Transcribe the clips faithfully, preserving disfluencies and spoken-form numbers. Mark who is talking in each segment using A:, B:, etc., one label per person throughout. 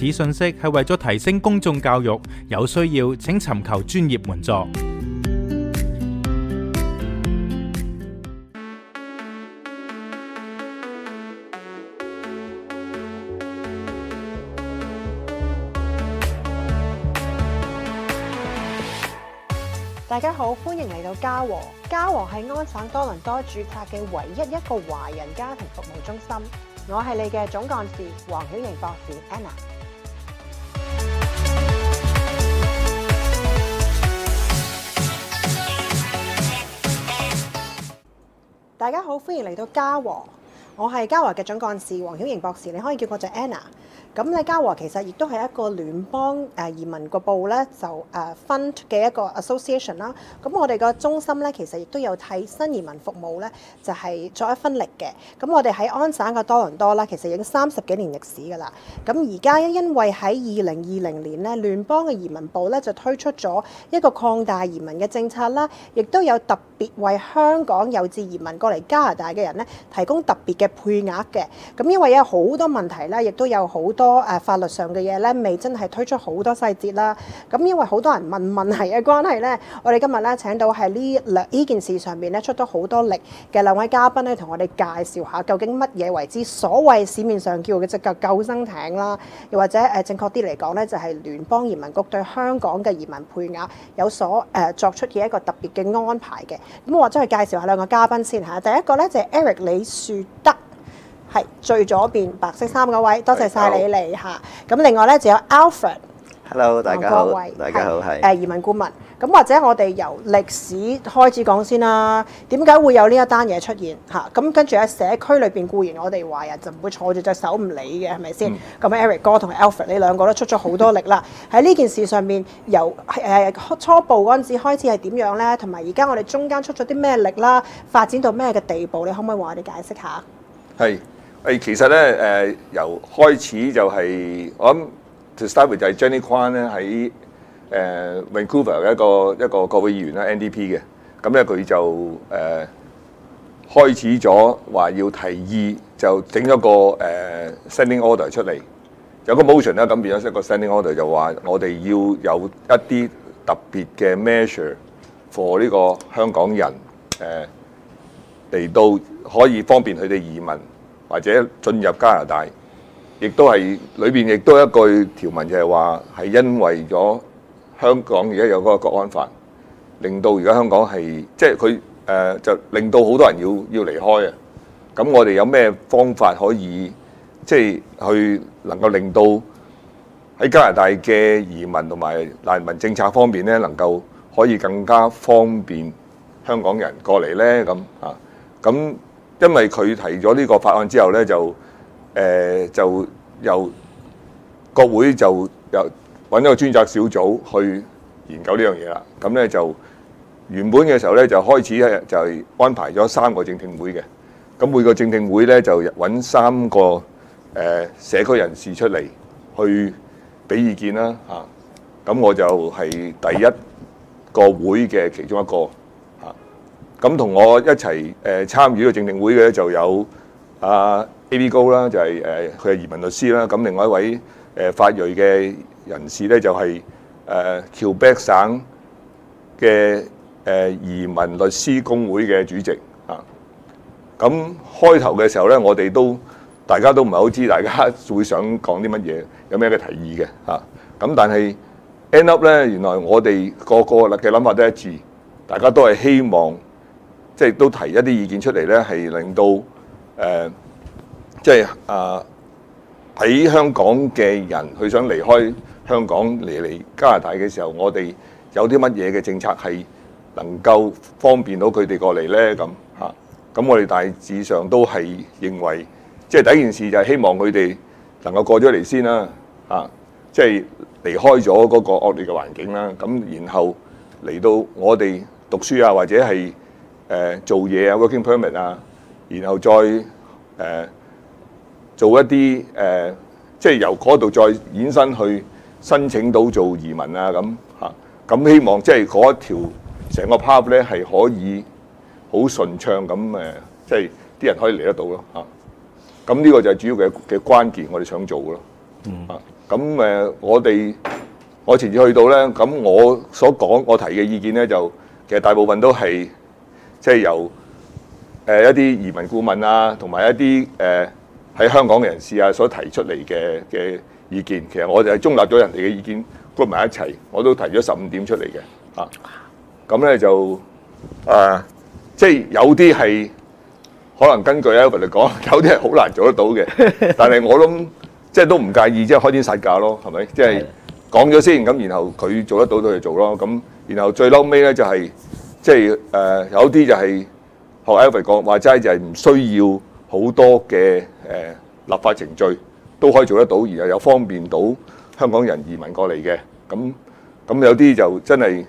A: 此信息係為咗提升公眾教育，有需要請尋求專業援助。
B: 大家好，歡迎嚟到嘉禾。嘉禾係安省多倫多註冊嘅唯一一個華人家庭服務中心。我係你嘅總幹事黃曉瑩博士 Anna。大家好，歡迎嚟到嘉禾。我係嘉禾嘅總幹事黃曉瑩博士，你可以叫我做 Anna。咁咧，嘉禾其實亦都係一個聯邦誒移民個部咧，就誒 fund 嘅一個 association 啦。咁我哋個中心咧，其實亦都有替新移民服務咧，就係作一分力嘅。咁我哋喺安省嘅多倫多啦，其實已經三十幾年歷史㗎啦。咁而家因為喺二零二零年咧，聯邦嘅移民部咧就推出咗一個擴大移民嘅政策啦，亦都有特別為香港有志移民過嚟加拿大嘅人咧，提供特別嘅配額嘅。咁因為有好多問題啦，亦都有好多多誒法律上嘅嘢咧，未真係推出好多細節啦。咁因為好多人問問題嘅關係咧，我哋今日咧請到係呢兩呢件事上面咧出咗好多力嘅兩位嘉賓咧，同我哋介紹下究竟乜嘢為之所謂市面上叫嘅隻救救生艇啦，又或者誒正確啲嚟講咧，就係聯邦移民局對香港嘅移民配額有所誒作出嘅一個特別嘅安排嘅。咁我或者去介紹下兩個嘉賓先嚇。第一個咧就係 Eric 李樹德。係最左邊白色衫嗰位，多謝晒你嚟嚇。咁另外咧就有 Alfred。Hello，
C: 大家好，大家好，係
B: 誒移民顧問。咁或者我哋由歷史開始講先啦。點解會有呢一單嘢出現嚇？咁跟住喺社區裏邊固然我哋華人就唔會坐住隻手唔理嘅，係咪先？咁、嗯、Eric 哥同 Alfred 呢兩個都出咗好多力啦。喺呢件事上面，由誒初步嗰陣時開始係點樣咧？同埋而家我哋中間出咗啲咩力啦？發展到咩嘅地步？你可唔可以話我哋解釋下？
D: 係。誒其實咧誒、呃、由開始就係、是、我諗 to start with 就係 Jenny Kwan 咧喺誒 Vancouver 嘅一個一個國會議員啦 N D P 嘅，咁咧佢就誒、呃、開始咗話要提議就整咗個誒、呃、standing order 出嚟，有個 motion 啦，咁變咗一個 standing order 就話我哋要有一啲特別嘅 measure for 呢個香港人誒嚟、呃、到可以方便佢哋移民。或者進入加拿大，亦都係裏邊亦都一句條文就係話係因為咗香港而家有嗰個國安法，令到而家香港係即係佢誒就令到好多人要要離開啊！咁我哋有咩方法可以即係去能夠令到喺加拿大嘅移民同埋難民政策方面咧，能夠可以更加方便香港人過嚟咧？咁啊咁。因為佢提咗呢個法案之後咧，就誒、呃、就由國會就由揾一個專責小組去研究呢樣嘢啦。咁咧就原本嘅時候咧，就開始咧就係安排咗三個正聽會嘅。咁每個正聽會咧就揾三個誒、呃、社區人士出嚟去俾意見啦嚇。咁我就係第一個會嘅其中一個。咁同我一齊誒參與呢個正聽會嘅就有阿 A B 高啦，就係誒佢係移民律師啦。咁另外一位誒法裔嘅人士咧就係誒喬北省嘅誒移民律師公會嘅主席啊。咁開頭嘅時候咧，我哋都大家都唔係好知，大家會想講啲乜嘢，有咩嘅提議嘅嚇。咁但係 end up 咧，原來我哋個個嘅諗法都一致，大家都係希望。即係都提一啲意見出嚟咧，係令到誒、呃，即係啊喺香港嘅人佢想離開香港嚟嚟加拿大嘅時候，我哋有啲乜嘢嘅政策係能夠方便到佢哋過嚟咧？咁嚇，咁、啊、我哋大致上都係認為，即係第一件事就係希望佢哋能夠過咗嚟先啦，嚇、啊，即係離開咗嗰個惡劣嘅環境啦。咁然後嚟到我哋讀書啊，或者係誒、呃、做嘢啊 working permit 啊，然後再誒、呃、做一啲誒、呃，即係由嗰度再衍生去申請到做移民啊咁嚇，咁、啊、希望即係嗰一條成個 path 咧係可以好順暢咁誒，即係啲人可以嚟得到咯嚇。咁、啊、呢個就係主要嘅嘅關鍵，我哋想做嘅咯。嗯啊， 咁誒，我哋我前次去到咧，咁我所講我提嘅意見咧，就其實大部分都係即係由誒一啲移民顧問啊，同埋一啲誒喺香港嘅人士啊所提出嚟嘅嘅意見。其實我就係中立咗人哋嘅意見 group 埋一齊，我都提咗十五點出嚟嘅啊。咁咧就誒，即係有啲係可能根據 Albert 嚟講，有啲係好難做得到嘅。但係我諗即係都唔介意，即係開天殺價咯，係咪？即係講咗先，咁然後佢做得到就做咯。咁然後最嬲尾咧就係即係誒有啲就係學 Albert 講話齋，就係唔需要好多嘅誒立法程序都可以做得到，然後又方便到香港人移民過嚟嘅。咁咁有啲就真係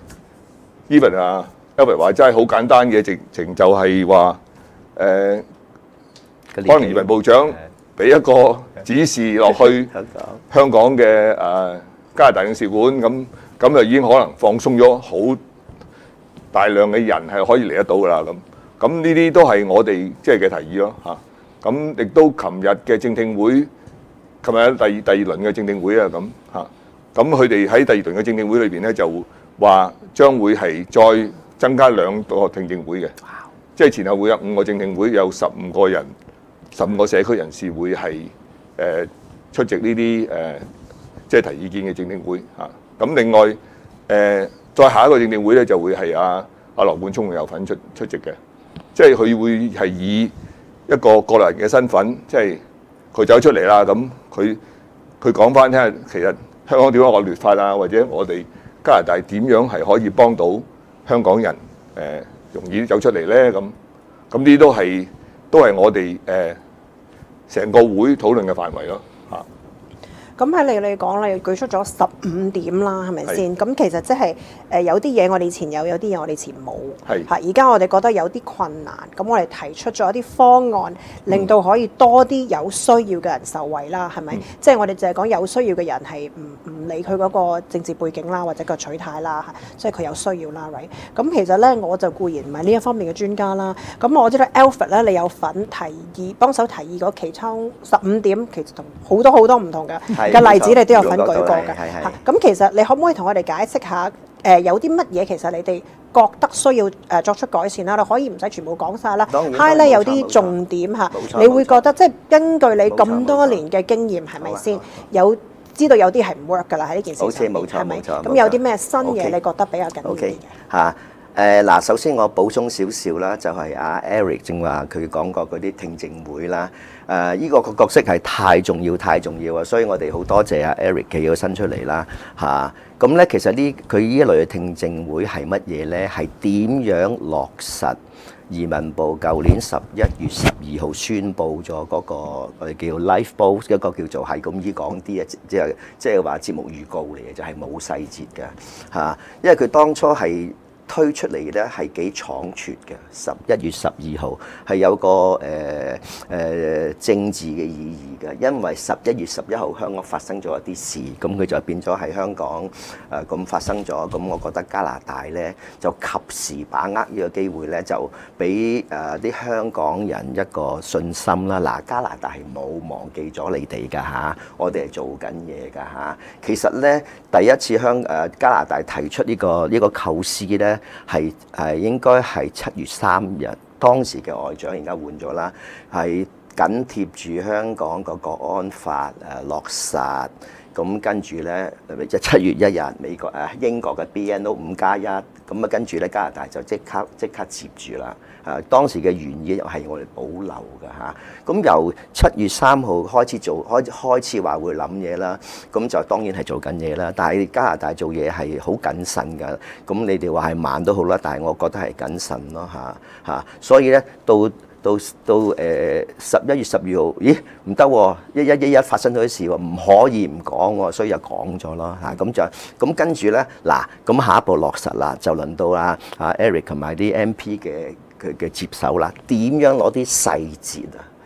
D: even 啊 Albert 話齋好簡單嘅直情就係話誒，可能移民部長俾一個指示落去香港嘅誒、呃、加拿大領事館，咁咁就已經可能放鬆咗好大量嘅人係可以嚟得到㗎啦。咁咁呢啲都係我哋即係嘅提議咯嚇。咁亦都琴日嘅正聽會，琴日第第二輪嘅正聽會啊咁嚇。咁佢哋喺第二輪嘅正聽會裏邊咧，就話將會係再增加兩個聽證會嘅，即係前後會有五個正聽會，有十五個人。十五個社區人士會係誒、呃、出席呢啲誒即係提意見嘅正聽會嚇。咁、啊、另外誒、呃、再下一個正聽會咧，就會係阿阿羅冠聰有份出出席嘅，即係佢會係以一個個人嘅身份，即係佢走出嚟啦。咁佢佢講翻聽下，其實香港點樣惡劣法啊，或者我哋加拿大點樣係可以幫到香港人誒、呃、容易走出嚟咧？咁咁呢啲都係都係我哋誒成個會討論嘅範圍咯嚇。
B: 咁喺你嚟講，你舉出咗十五點啦，係咪先？咁其實即係誒有啲嘢我哋以前有，有啲嘢我哋以前冇。係嚇，而家我哋覺得有啲困難，咁我哋提出咗一啲方案，令到可以多啲有需要嘅人受惠啦，係咪？嗯、即係我哋淨係講有需要嘅人係唔唔理佢嗰個政治背景啦，或者個取態啦，即係佢有需要啦 right？ 咁其實咧，我就固然唔係呢一方面嘅專家啦。咁我知道 Alfred 咧，你有份提議幫手提議嗰其中十五點，其實同好多好多唔同嘅嘅例子你都有份舉過嘅，嚇咁其實你可唔可以同我哋解釋下？誒、呃、有啲乜嘢其實你哋覺得需要誒、呃、作出改善啦？你可以唔使全部講晒啦 highlight 有啲重點嚇，你會覺得即係根據你咁多年嘅經驗係咪先有知道有啲係唔 work 㗎啦喺呢件事上面，係咪？咁有啲咩新嘢你覺得比較緊要啲嘅
C: 嚇？誒嗱，首先我補充少少啦，就係阿 Eric 正話佢講過嗰啲聽證會啦。誒，依個個角色係太重要、太重要啊！所以我哋好多謝阿 Eric 企咗身出嚟啦，嚇。咁咧，其實呢佢呢一類嘅聽證會係乜嘢咧？係點樣落實移民部舊年十一月十二號宣佈咗嗰個我哋叫 Life Boat 一個叫做係咁依講啲啊，即係即係話節目預告嚟嘅，就係冇細節嘅嚇。因為佢當初係推出嚟咧係幾倉促嘅，十一月十二號係有個誒誒、呃呃、政治嘅意義嘅，因為十一月十一號香港發生咗一啲事，咁佢就變咗喺香港誒咁、呃、發生咗，咁我覺得加拿大咧就及時把握呢個機會咧，就俾誒啲香港人一個信心啦。嗱，加拿大係冇忘記咗你哋㗎嚇，我哋係做緊嘢㗎嚇。其實咧第一次香誒、呃、加拿大提出呢、呢個呢、呢個構思咧。係係應該係七月三日，當時嘅外長而家換咗啦，係緊貼住香港個國安法誒落實，咁跟住咧就七月一日美國誒英國嘅 B N O 五加一，咁啊跟住咧加拿大就即刻即刻接住啦。誒當時嘅原意係我哋保留嘅嚇，咁由七月三號開始做開開始話會諗嘢啦，咁就當然係做緊嘢啦。但係加拿大做嘢係好謹慎㗎，咁你哋話係慢都好啦，但係我覺得係謹慎咯嚇嚇。所以咧到到到誒十一月十二號，咦唔得喎，一一一一發生咗啲事喎，唔可以唔講喎，所以就講咗咯嚇。咁就咁跟住咧嗱，咁下一步落實啦，就輪到啊啊 Eric 同埋啲 M P 嘅。佢嘅接手啦，點樣攞啲細節啊？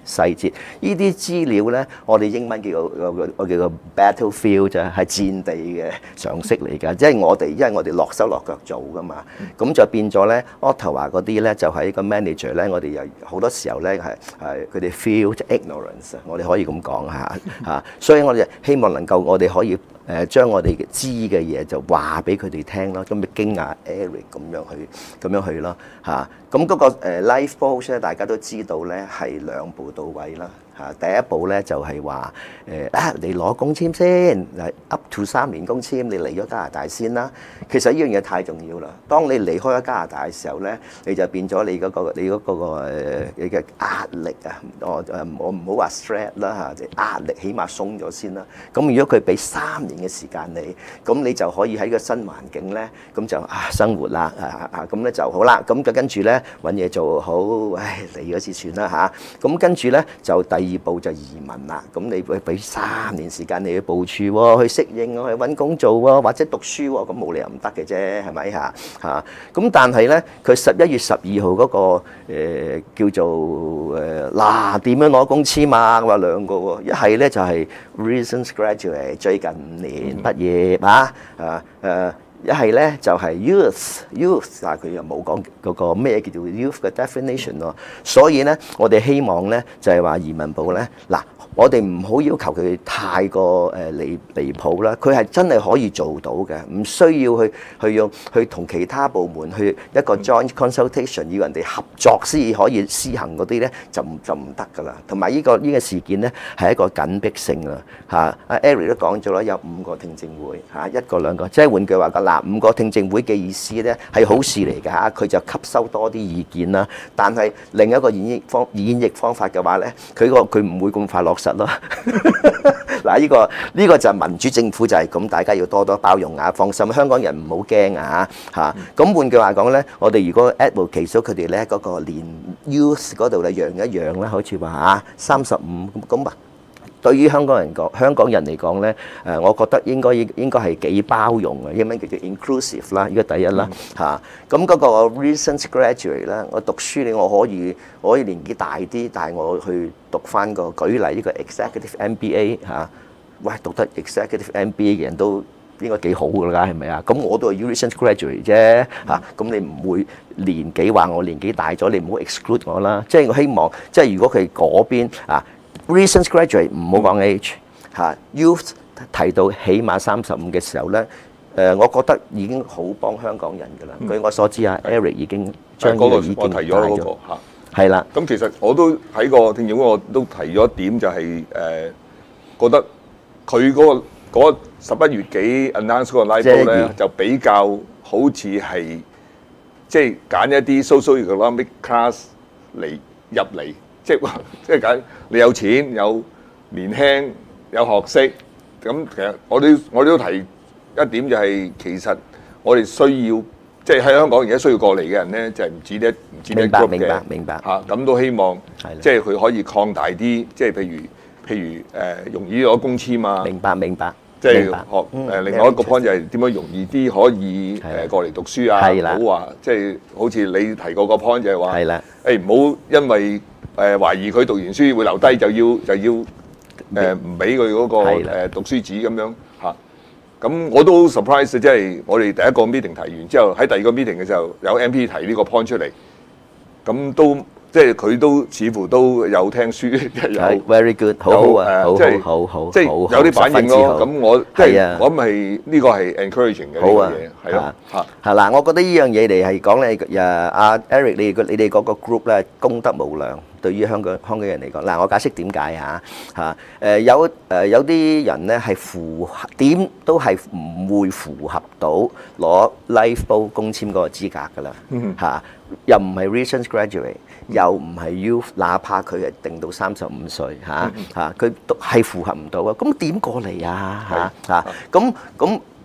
C: 細節。呢啲資料咧，我哋英文叫做我叫做 battlefield 啫，係戰地嘅常識嚟㗎。即係我哋因為我哋落手落腳做㗎嘛，咁就變咗咧 Ottawa 嗰啲咧就係個 manager 咧，我哋又好多時候咧係係佢哋 feel ignorance， 我哋可以咁講嚇嚇，所以我哋希望能夠我哋可以誒將我哋知嘅嘢就話俾佢哋聽咯，咁咪經阿 Eric 咁樣去咁樣去咯嚇。咁嗰個誒 life post 咧，大家都知道咧係兩步到位啦嚇。第一步咧就係話誒啊，你攞工簽先，up to 三年工簽，你嚟咗加拿大先啦。其實呢樣嘢太重要啦。當你離開咗加拿大嘅時候咧，你就變咗你嗰個你嗰個誒你嘅壓力啊，我誒我唔好話 stress 啦嚇，壓力起碼鬆咗先啦。咁如果佢俾三年嘅時間你，咁你就可以喺個新環境咧，咁就啊生活啦啊啊咁咧就好啦。咁就跟住咧揾嘢做好，唉嚟嗰次算啦嚇。咁跟住咧就第二步就移民啦。咁你會俾三年時間你去部署喎，去適應喎，去揾工做喎，或者讀書喎，咁冇理由唔得嘅啫，係咪嚇嚇？咁但係咧，佢十一月十二號嗰個誒叫做誒嗱點樣攞工簽啊？話兩個喎，一係咧就係 recent graduate 最近五年畢業啊啊誒。一係咧就係 youth youth， 但係佢又冇講嗰個咩叫做 youth 嘅 definition 咯。所以咧，我哋希望咧就係話移民部咧嗱。我哋唔好要求佢太過誒離離譜啦，佢係真係可以做到嘅，唔需要去去用去同其他部門去一個 joint consultation， 要人哋合作先可以施行嗰啲咧，就唔就唔得㗎啦。同埋呢個呢個事件咧係一個緊迫性啊嚇，阿 Eric 都講咗啦，有五個聽證會嚇，一個兩個，即係換句話講嗱，五個聽證會嘅意思咧係好事嚟㗎嚇，佢就吸收多啲意見啦。但係另一個演繹方演繹方法嘅話咧，佢個佢唔會咁快落實咯。嗱，呢個呢個就係民主政府就係咁，大家要多多包容啊，放心，香港人唔好驚啊嚇。咁換句話講咧，我哋如果 advocate 咗佢哋咧嗰個連 youth 嗰度咧讓一讓啦，好似話嚇三十五咁啊。對於香港人講，香港人嚟講咧，誒，我覺得應該應應該係幾包容嘅，英文叫做 inclusive 啦，呢個第一啦嚇。咁嗰個 recent graduate 咧，我讀書你我可以我可以年紀大啲，但係我去讀翻個舉例呢個 executive M B A 嚇，喂，讀得 executive M B A 嘅人都應該幾好㗎啦，係咪啊？咁我都係 recent graduate 啫嚇，咁你唔會年紀話我年紀大咗，你唔好 exclude 我啦。即係我希望，即係如果佢嗰邊啊。recent graduate 唔好講 age 嚇 ，youth 提到起碼三十五嘅時候咧，誒，我覺得已經好幫香港人㗎啦。嗯、據我所知啊 ，Eric 已經將呢個意見
D: 我提咗嗰、那個嚇，
C: 係啦。
D: 咁其實我都喺個聽證會，我都提咗一點、就是，就係誒覺得佢嗰、那個十一月幾 announce 嗰個 live vote 咧，就比較好似係即係揀一啲 socio-economic class 嚟入嚟。即係話，即係揀你有錢、有年輕、有學識，咁其實我哋我哋都提一點就係，其實我哋需要即係喺香港而家需要過嚟嘅人咧，就係唔止一唔止一 group 嘅，
C: 明白明白明白
D: 嚇，咁都希望即係佢可以擴大啲，即係譬如譬如誒容易攞工簽啊，
C: 明白明白，
D: 即係學誒另外一個 point 就係點樣容易啲可以誒過嚟讀書啊，唔好話即係好似你提過個 point 就係話，誒唔好因為誒懷疑佢讀完書會留低，就要就要誒唔俾佢嗰個誒讀書紙咁樣嚇。咁我都 surprise，即係我哋第一個 meeting 提完之後，喺第二個 meeting 嘅時候有 M P 提呢個 point 出嚟，咁都即係佢都似乎都有聽書，有
C: very good， 好好啊，好好好，
D: 即係有啲反應咯。咁我即係我諗係呢個係 encouraging 嘅呢樣嘢，係咯嚇。
C: 係嗱，我覺得呢樣嘢嚟係講咧，誒阿 Eric 你你哋嗰個 group 咧功德無量。對於香港香港人嚟講，嗱我解釋點解嚇嚇誒有誒有啲人咧係符合點都係唔會符合到攞 life vote 工簽嗰個資格㗎啦嚇，又唔係 recent graduate，又唔係 youth，哪怕佢係定到三十五歲嚇嚇，佢都係符合唔到啊！咁點過嚟啊嚇嚇咁咁？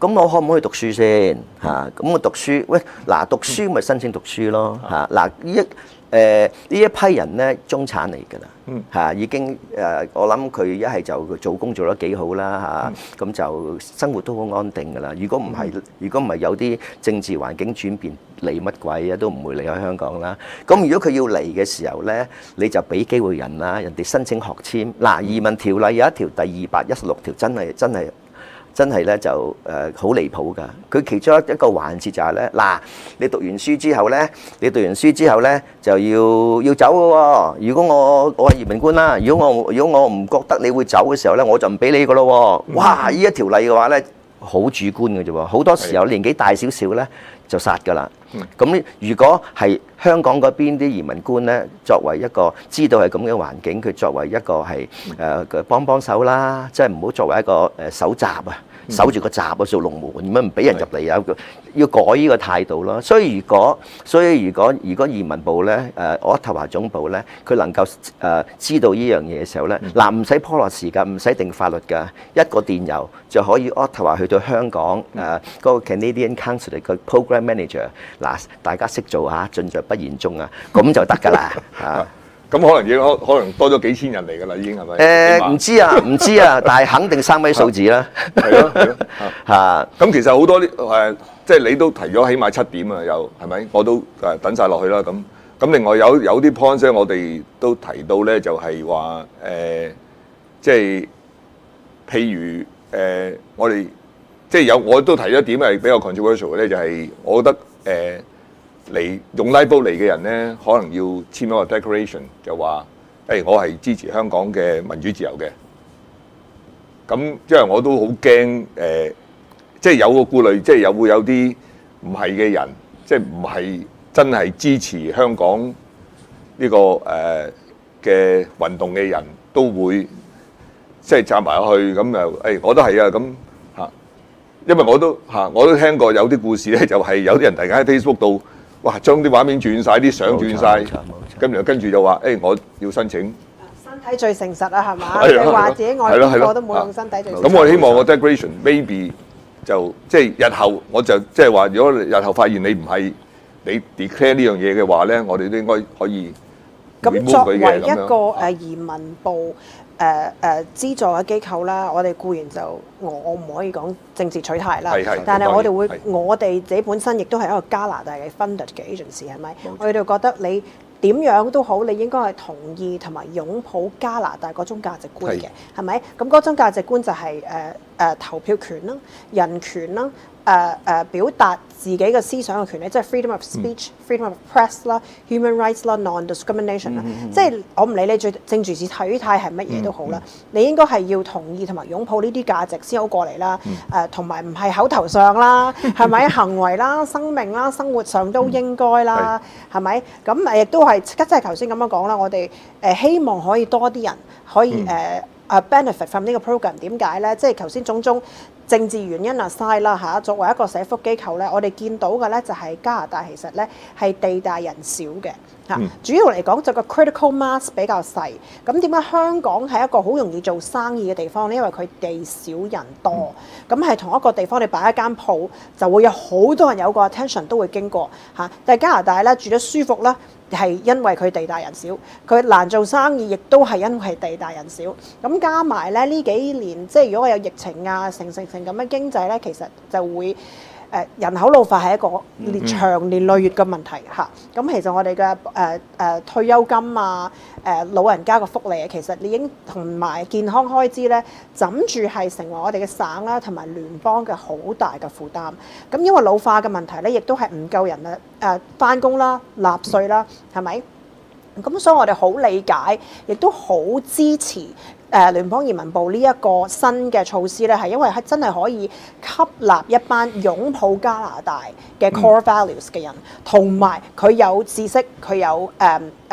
C: 咁我可唔可以讀書先嚇？咁我讀書，喂嗱，讀書咪申請讀書咯嚇。嗱呢一誒呢一批人咧，中產嚟㗎啦嚇，已經誒我諗佢一係就做工做得幾好啦嚇，咁就生活都好安定㗎啦。如果唔係，如果唔係有啲政治環境轉變，嚟乜鬼啊？都唔會離開香港啦。咁如果佢要嚟嘅時候咧，你就俾機會人啦，人哋申請學簽。嗱，移民條例有一條第二百一十六條，真係真係。真係咧就誒好離譜㗎！佢其中一一個環節就係咧，嗱，你讀完書之後咧，你讀完書之後咧就要要走嘅喎。如果我我係移民官啦，如果我如果我唔覺得你會走嘅時候咧，我就唔俾你㗎咯喎！哇！呢一條例嘅話咧，好主觀嘅啫喎，好多時候年紀大少少咧就殺㗎啦。咁如果係香港嗰邊啲移民官咧，作為一個知道係咁嘅環境，佢作為一個係誒嘅幫幫手啦，即係唔好作為一個誒守閘啊，守住個閘啊，做龍門咁樣唔俾人入嚟啊，要改呢個態度咯。所以如果所以如果如果移民部咧誒渥太華總部咧，佢能夠誒知道呢樣嘢嘅時候咧，嗱唔使 policy 㗎，唔使定法律㗎，一個電郵就可以渥太華去到香港誒嗰個 Canadian Consulate 嘅 Program Manager。嗱，大家識做嚇，盡在不言中啊，咁就得㗎啦嚇。
D: 咁可能已經可可能多咗幾千人嚟㗎啦，已經係咪？
C: 誒唔知啊，唔知啊，但係肯定三位數字啦。
D: 係咯係咯嚇。咁其實好多啲誒，即係你都提咗起碼七點啊，又係咪？我都誒等晒落去啦。咁咁另外有有啲 point 咧，我哋都提到咧，就係話誒，即係譬如誒，我哋即係有我都提咗一點係比較 controversial 嘅咧，就係我覺得。誒嚟用拉布嚟嘅人咧，可能要簽一個 declaration，就話誒、欸、我係支持香港嘅民主自由嘅。咁因為我都好驚誒，即係有個顧慮，即係有會有啲唔係嘅人，即係唔係真係支持香港呢、這個誒嘅、呃、運動嘅人都會即係站埋去，咁又誒我都係啊咁。因為我都嚇，我都聽過有啲故事咧，就係有啲人突然間喺 Facebook 度，哇，將啲畫面轉晒，啲相轉晒，跟住跟住就話，誒，我要申請。
B: 身體最誠實啊，係嘛？你話自己愛邊個都冇用身體最誠實。
D: 咁我希望個 declaration maybe 就即係日後我就即係話，如果日後發現你唔係你 declare 呢樣嘢嘅話咧，我哋都應該可以 remove 佢嘅咁樣。咁作為一個誒移民部。誒誒、呃呃、資助嘅機構啦，我哋固然就我我唔可以講政治取態啦，但係我哋會我哋自己本身亦都係一個加拿大嘅 funded 嘅 agency 係咪？我哋覺得你點樣都好，你應該係同意同埋擁抱加拿大嗰種價值觀嘅，係咪？咁嗰種價值觀就係誒誒投票權啦、人權啦。誒誒、uh, uh, 表達自己嘅思想嘅權利，即係 freedom of speech、嗯、freedom of press 啦、human rights 啦、non-discrimination 啦，嗯、即係我唔理你最政治是體態係乜嘢都好啦，嗯、你應該係要同意同埋擁抱呢啲價值先好過嚟啦。誒同埋唔係口頭上啦，係咪行為啦、生命啦、生活上都應該啦，係咪、嗯？咁誒亦都係即係頭先咁樣講啦，我哋誒、呃、希望可以多啲人可以誒誒、嗯呃、benefit from 呢個 program。點解咧？即係頭先種種。政治原因啊，aside啦嚇，作為一個社福機構咧，我哋見到嘅咧就係加拿大其實咧係地大人少嘅嚇，嗯、主要嚟講就個 critical mass 比較細。咁點解香港係一個好容易做生意嘅地方咧？因為佢地少人多，咁係、嗯、同一個地方你擺一間鋪就會有好多人有個 attention 都會經過嚇。但係加拿大咧住得舒服啦。係因為佢地大人少，佢難做生意，亦都係因為地大人少。咁加埋咧呢幾年，即係如果我有疫情啊，成成成咁嘅經濟咧，其實就會誒、呃、人口老化係一個年長年累月嘅問題嚇。咁、嗯、其實我哋嘅誒誒退休金啊，誒、呃、老人家嘅福利啊，其實已經同埋健康開支咧，枕住係成為我哋嘅省啦同埋聯邦嘅好大嘅負擔。咁因為老化嘅問題咧，亦都係唔夠人啊誒返工啦、納稅啦，係咪？咁所以我哋好理解，亦都好支持誒、呃、聯邦移民部呢一個新嘅措施咧，係因為係真係可以吸納一班擁抱加拿大嘅 core values 嘅人，同埋佢有知識，佢有誒誒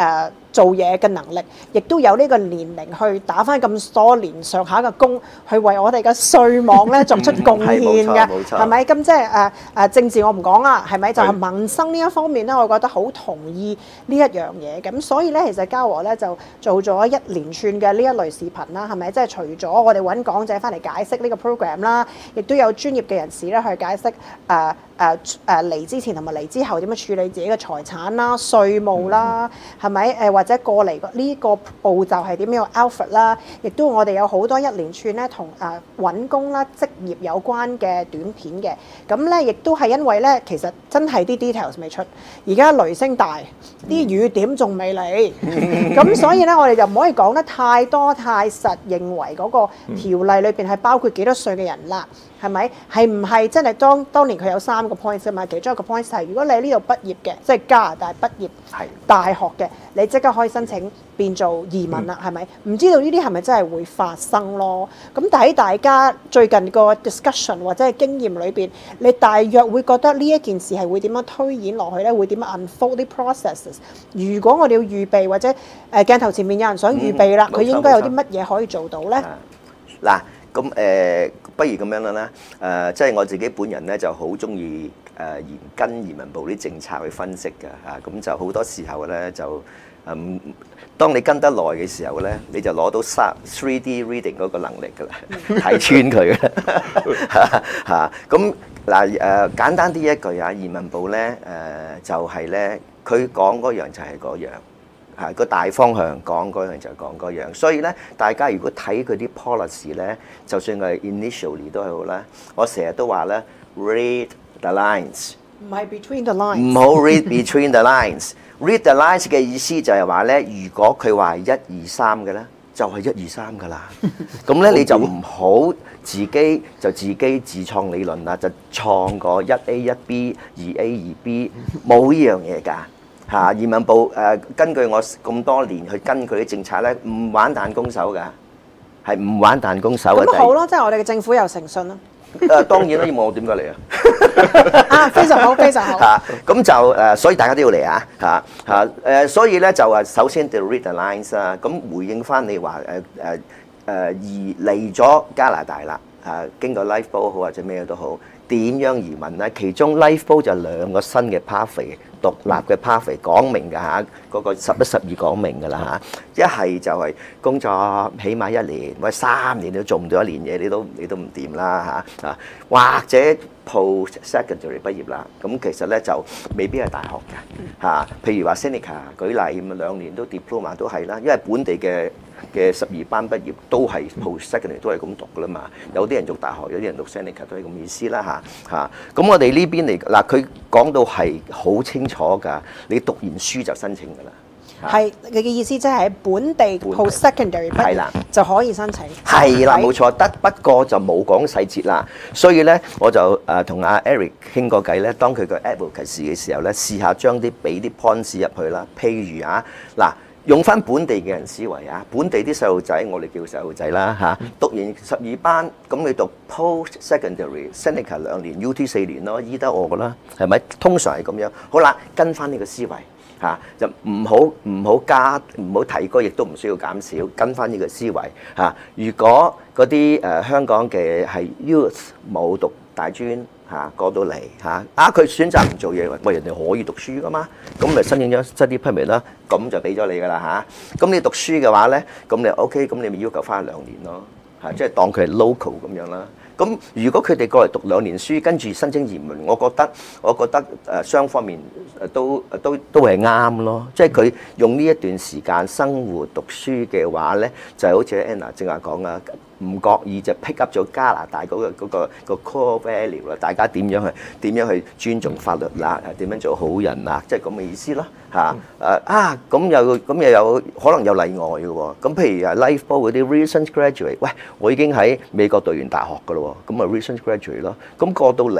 B: 做嘢嘅能力，亦都有呢個年齡去打翻咁多年上下嘅工，去為我哋嘅稅網咧作出貢獻嘅，係咪？咁即係誒誒政治我唔講啦，係咪？就係、是、民生呢一方面咧，我覺得好同意呢一樣嘢。咁所以咧，其實嘉禾咧就做咗一連串嘅呢一類視頻啦，係咪？即係除咗我哋揾講者翻嚟解釋呢個 program 啦，亦都有專業嘅人士咧去解釋誒誒誒嚟之前同埋嚟之後點樣處理自己嘅財產啦、稅務啦，係咪？誒或者過嚟呢個步驟係點樣 outfit 啦，亦都我哋有好多一連串咧同誒揾工啦、職業有關嘅短片嘅。咁咧亦都係因為咧，其實真係啲 details 未出，而家雷聲大，啲雨點仲未嚟，咁所以咧我哋就唔可以講得太多太實，認為嗰個條例裏邊係包括幾多歲嘅人啦。係咪？係唔係真係當當年佢有三個 point 㗎嘛？其中一個 point 係如果你喺呢度畢業嘅，即係加拿大畢業大學嘅，你即刻可以申請變做移民啦，係咪？唔知道呢啲係咪真係會發生咯？咁但喺大家最近個 discussion 或者係經驗裏邊，你大約會覺得呢一件事係會點樣推演落去咧？會點樣 unfold 啲 processes？如果我哋要預備或者誒、呃、鏡頭前面有人想預備啦，佢、嗯、應該有啲乜嘢可以做到咧？
C: 嗱、啊，咁誒、呃，不如咁樣啦啦，誒、呃，即係我自己本人咧就好中意誒研跟移民部啲政策去分析嘅嚇，咁、啊、就好多時候咧就嗯，當你跟得耐嘅時候咧，你就攞到三 three D reading 嗰個能力㗎啦，睇穿佢啦嚇。咁嗱誒，簡單啲一句啊，移民部咧誒、呃、就係、是、咧，佢講嗰樣就係嗰樣。係個大方向講嗰樣就講嗰樣，所以咧，大家如果睇佢啲 policy 咧，就算係 initially 都係好啦。我成日都話咧 ，read the lines，
B: 唔係 between the lines，
C: 唔好 read between the lines。read the lines 嘅意思就係話咧，如果佢話係一二三嘅咧，就係一二三噶啦。咁咧你就唔好自己就自己自創理論啦，就創個一 A 一 B 二 A 二 B， 冇呢樣嘢㗎。嚇！移民部誒、呃、根據我咁多年去跟佢啲政策咧，唔玩彈弓手㗎，係唔玩彈弓手嘅。
B: 咁好咯，即係我哋嘅政府有誠信咯。
C: 誒、呃、當然啦，要問我點解嚟啊？
B: 啊，非常好，非常好。
C: 嚇！咁就誒、呃，所以大家都要嚟啊！嚇嚇誒，所以咧就誒，首先就 read the lines 啦。咁回應翻你話誒誒誒，而嚟咗加拿大啦，誒、啊、經過 Lifeboat 好或者咩都好，點樣移民咧？其中 Lifeboat 就兩個新嘅 pathway。獨立嘅 pathway 講明㗎嚇，嗰個十一十二講明㗎啦嚇。一係就係工作起碼一年或者三年都做唔到一年嘢，你都你都唔掂啦嚇啊！或者 post secondary 畢業啦，咁其實咧就未必係大學嘅嚇。譬如話 Seneca 舉例咁啊，兩年都 diploma 都係啦，因為本地嘅嘅十二班畢業都係 post secondary 都係咁讀㗎啦嘛。有啲人讀大學，有啲人讀 Seneca 都係咁意思啦嚇嚇。咁我哋呢邊嚟嗱，佢講到係好清楚㗎，你讀完書就申請㗎啦。
B: 係你嘅意思，即係喺本地 post secondary 畢業就可以申請。
C: 係啦，冇錯，得不過就冇講細節啦。所以咧，我就誒同阿 Eric 傾過偈咧，當佢個 advocacy 嘅時候咧，試下將啲俾啲 points 入去啦。譬如啊，嗱，用翻本地嘅人思維啊，本地啲細路仔，我哋叫細路仔啦嚇，讀完十二班，咁你讀 post secondary Seneca 兩年 ，U T 四年咯，醫得我噶啦，係咪？通常係咁樣。好啦，跟翻呢個思維。嚇、啊、就唔好唔好加唔好提高，亦都唔需要減少，跟翻呢個思維嚇、啊。如果嗰啲誒香港嘅係 youth 冇讀大專嚇過到嚟嚇，啊佢選擇唔做嘢，喂人哋可以讀書噶嘛，咁咪申請咗 study permit 啦，咁就俾咗你噶啦嚇。咁、啊、你讀書嘅話咧，咁你 OK，咁你咪要求翻兩年咯嚇、啊，即係當佢係 local 咁樣啦。咁如果佢哋過嚟讀兩年書，跟住申請移民，我覺得我覺得誒雙方面誒都都都係啱咯。即係佢用呢一段時間生活讀書嘅話咧，就係好似 Anna 正話講啊，唔覺意就 pick up 咗加拿大嗰個嗰個個 core value 啦。大家點樣去點樣去尊重法律啦？點樣做好人啊？即係咁嘅意思咯嚇。誒啊咁又咁又有可能有例外嘅喎。咁譬如啊 Lifeboat 嗰啲 recent graduate，喂，我已經喺美國讀完大學㗎咯喎。咁啊 recent graduate 咯，咁過到嚟，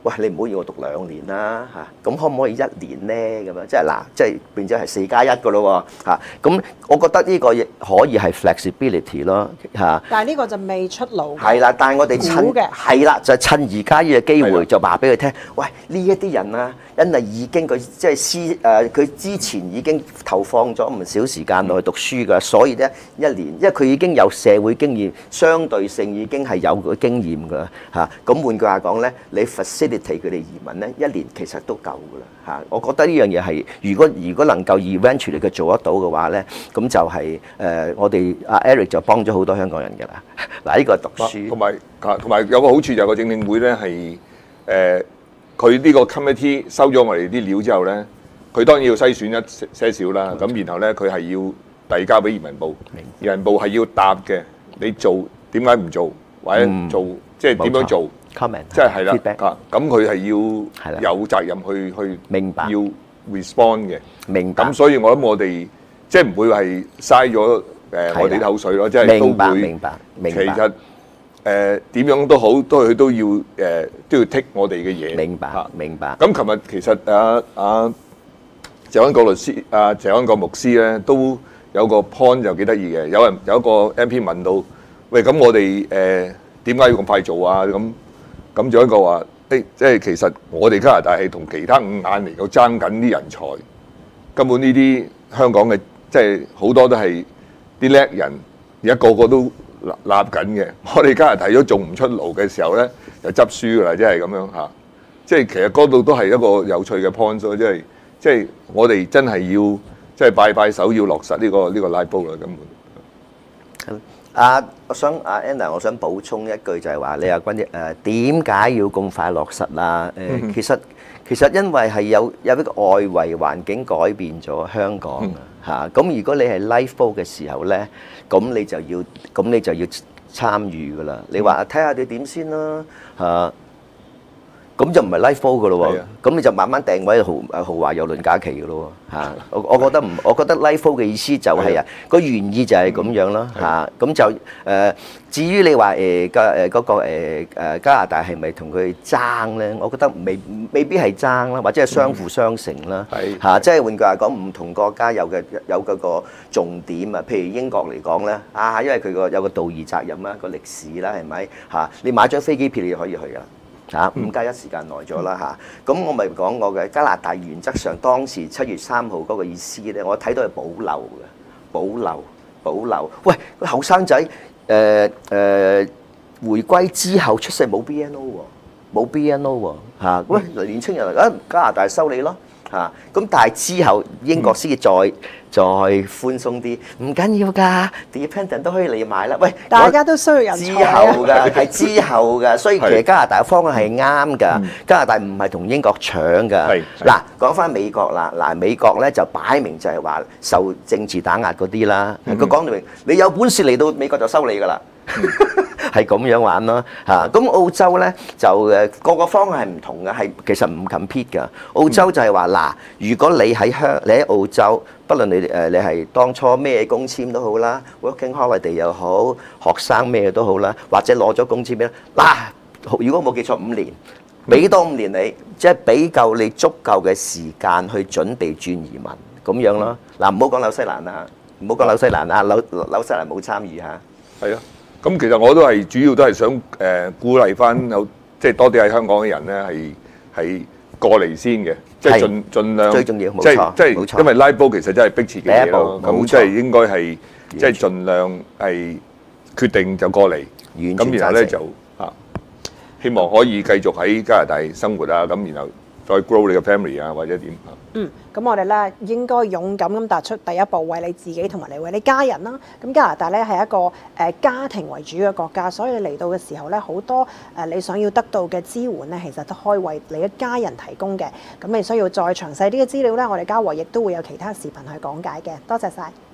C: 喂，你唔好要我讀兩年啦嚇，咁、啊、可唔可以一年咧？咁樣即係嗱，即係變咗係四加一嘅咯喎嚇。咁、啊、我覺得呢個亦可以係 flexibility 咯嚇。啊、
B: 但係呢個就未出爐。
C: 係啦，但係我哋趁
B: 嘅
C: 係啦，就係、趁而家呢個機會
D: 的
C: 就話俾佢聽，喂呢一啲人啊，因為已經佢即係私誒，佢、呃、之前已經投放咗唔少時間落去讀書㗎，所以咧一年，因為佢已經有社會經驗，相對性已經係有個經驗㗎嚇。咁、啊、換句話講咧，你 facilitate 佢哋移民咧，一年其實都夠㗎啦嚇。我覺得呢樣嘢係，如果如果能夠 eventually 佢做得到嘅話咧，咁就係、是、誒、呃、我哋阿 Eric 就幫咗好多香港人㗎啦。嗱，呢個係讀書，
D: 同埋同埋有個好處就係個政領會咧係誒，佢呢個 committee 收咗我哋啲料之後咧，佢當然要篩選一些少啦。咁然後咧，佢係要遞交俾移民部，移民部係要答嘅。你做點解唔做，或者做、嗯、即係點樣做
C: comment，
D: 即係係啦
C: feedback
D: 啊。咁佢係要有責任去去
C: 明白
D: 要 respond 嘅。
C: 明白。
D: 咁所以我諗我哋即係唔會係嘥咗。誒，我哋啲口水咯，即係都會。
C: 明白，明白。
D: 其實誒點樣都好，都佢都要誒都要剔我哋嘅嘢。
C: 明白，明白。
D: 咁琴日其實啊啊謝安國律師、啊謝安國牧師咧，都有個 point 就幾得意嘅。有人有一個 M P 問到：喂，咁我哋誒點解要咁快做啊？咁咁仲有一個話：誒，即係其實我哋加拿大係同其他五眼嚟到爭緊啲人才，根本呢啲香港嘅即係好多都係。啲叻人而家個個都立立緊嘅，我哋加拿大如果做唔出爐嘅時候咧，就執輸㗎啦，即係咁樣嚇。即係其實嗰度都係一個有趣嘅 point 咯，即係即係我哋真係要即係拜拜手要落實呢個呢個拉布啦，根本。
C: 啊，我想阿 Anna，我想補充一句就係話，你阿君誒點解要咁快落實啊？誒，其實其實因為係有有一個外圍環境改變咗香港啊。嚇！咁如果你係 life vote 嘅時候咧，咁你就要咁你就要參與噶啦。你話睇下你點先啦嚇，咁就唔係 life vote 噶咯喎。咁你就慢慢訂位豪豪華郵輪假期噶咯喎嚇。我我覺得唔，我覺得 life vote 嘅意思就係啊個原意就係咁樣咯嚇。咁就誒，至於你話誒加誒嗰個誒誒加拿大係咪同佢爭咧？我覺得未未必係爭啦，或者係相輔相成啦嚇。即係換句話講，唔同國家有嘅有嗰個重點啊。譬如英國嚟講咧，啊，因為佢個有個道義責任啦，個歷史啦，係咪嚇？你買張飛機票你就可以去噶啦。嚇，五加一時間耐咗啦嚇，咁我咪講過嘅加拿大原則上當時七月三號嗰個意思咧，我睇到係保留嘅，保留保留。喂，個後生仔誒誒回歸之後出世冇 B N O 喎，冇 B N O 喎嚇，喂年青人啊加拿大收你咯嚇，咁但係之後英國先至再。再寬鬆啲，唔緊要㗎 ，dependent 都可以嚟買啦。喂，
B: 大家都需要人才。
C: 之後㗎，係之後㗎，所以其實加拿大嘅方向係啱㗎。加拿大唔係同英國搶㗎。嗱，講翻美國啦，嗱美國咧就擺明就係話受政治打壓嗰啲啦。佢講到明，你有本事嚟到美國就收你㗎啦。係咁樣玩咯嚇，咁澳洲咧就誒個個方向係唔同嘅，係其實唔 compete 㗎。澳洲就係話嗱，如果你喺香你喺澳洲，不論你誒你係當初咩工簽都好啦 ，working holiday 又好，學生咩都好啦，或者攞咗工簽咩嗱，如果冇記錯五年，俾多五年你，即係俾夠你足夠嘅時間去準備轉移民咁樣咯。嗱，唔好講紐西蘭啊，唔好講紐西蘭啊，紐紐西蘭冇參與嚇。係啊。
D: 咁其實我都係主要都係想誒、呃、鼓勵翻有即係多啲喺香港嘅人咧係係過嚟先嘅，即係盡盡量
C: 最重要，冇
D: 即
C: 錯，
D: 即係因為拉布其實真係迫切嘅嘢咯，咁即係應該係即係盡量係決定就過嚟，咁然後咧就啊希望可以繼續喺加拿大生活啊，咁然後再 grow 你嘅 family 啊或者點啊。
B: 嗯，咁我哋咧應該勇敢咁踏出第一步，為你自己同埋你為你家人啦。咁加拿大咧係一個誒、呃、家庭為主嘅國家，所以你嚟到嘅時候咧，好多誒、呃、你想要得到嘅支援咧，其實都可以為你嘅家人提供嘅。咁你需要再詳細啲嘅資料咧，我哋嘉禾亦都會有其他視頻去講解嘅。多謝晒。